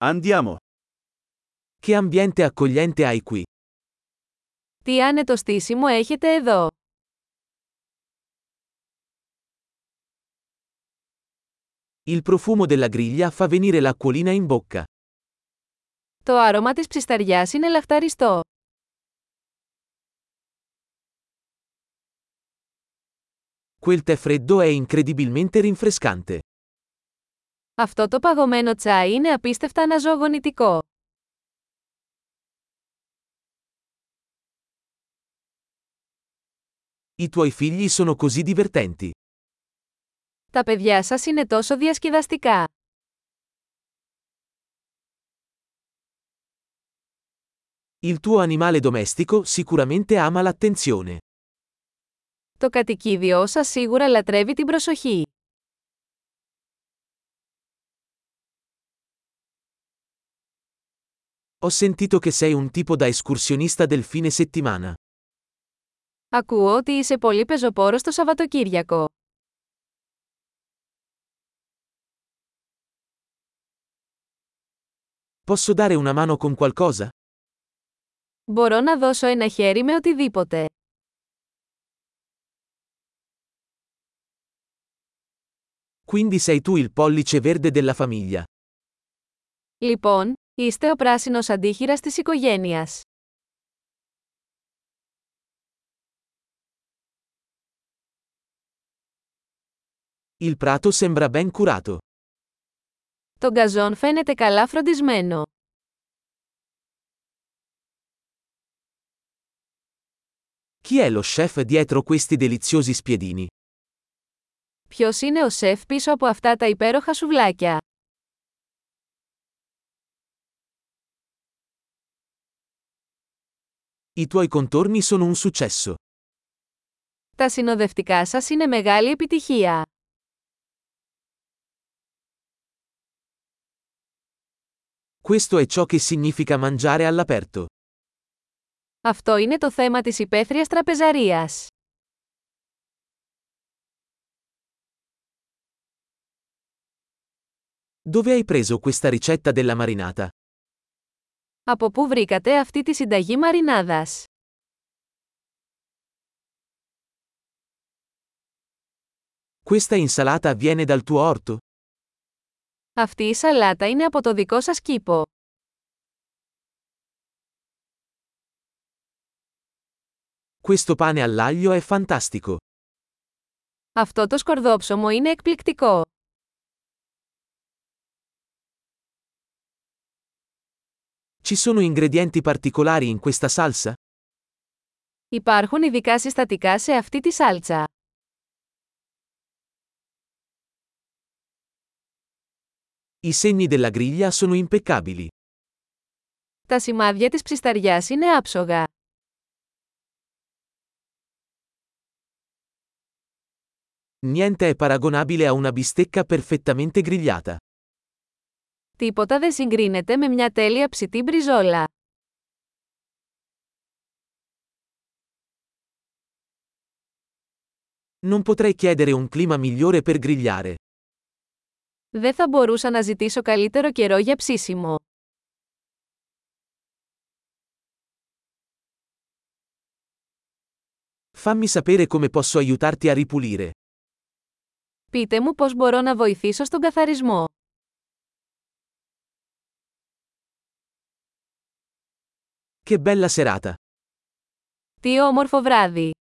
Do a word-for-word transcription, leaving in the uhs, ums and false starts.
Andiamo. Che ambiente accogliente hai qui. Τι άνετο στήσιμο έχετε εδώ. Il profumo della griglia fa venire l'acquolina in bocca. Το άρωμα της ψισταριάς είναι λαχταριστό. Quel tè freddo è incredibilmente rinfrescante. Αυτό το παγωμένο τσάι είναι απίστευτα αναζωογονητικό. I tuoi figli sono così divertenti. Τα παιδιά σας είναι τόσο διασκεδαστικά. Il tuo animale domestico sicuramente ama l'attenzione. Το κατοικίδιό σας σίγουρα λατρεύει την προσοχή. Ho sentito che sei un tipo da escursionista del fine settimana. Ακούω ότι είσαι πολύ πεζοπόρος το Σαββατοκύριακο. Posso dare una mano con qualcosa? Μπορώ να δώσω ένα χέρι με οτιδήποτε. Quindi sei tu il pollice verde della famiglia. Λοιπόν, είστε ο πράσινος αντίχειρας της οικογένειας. Il prato sembra ben curato. Το γκαζόν φαίνεται καλά φροντισμένο. Chi è lo chef dietro questi deliziosi spiedini? Ποιος είναι ο σεφ πίσω από αυτά τα υπέροχα σουβλάκια? I tuoi contorni sono un successo. Τα συνοδευτικά σας είναι μεγάλη επιτυχία. Questo è ciò che significa mangiare all'aperto. Αυτό είναι το θέμα της υπαίθριας τραπεζαρίας. Dove hai preso questa ricetta della marinata? Από πού βρήκατε αυτή τη συνταγή μαρινάδας? Questa insalata viene dal tuo orto? Αυτή η σαλάτα είναι από το δικό σας κήπο. Questo pane all'aglio è fantastico. Αυτό το σκορδόψωμο είναι εκπληκτικό. Ci sono ingredienti particolari in questa salsa? Υπάρχουν ειδικά συστατικά σε αυτή τη σάλτσα. I segni della griglia sono impeccabili. Τα σημάδια της ψισταριάς είναι άψογα. Niente è paragonabile a una bistecca perfettamente grigliata. Τίποτα δεν συγκρίνεται με μια τέλεια ψητή μπριζόλα. Non potrei chiedere un clima migliore per grigliare. Δεν θα μπορούσα να ζητήσω καλύτερο καιρό για ψήσιμο. Fammi sapere come posso aiutarti a ripulire. Πείτε μου πώς μπορώ να βοηθήσω στον καθαρισμό. Che bella serata! Τι όμορφο βράδυ!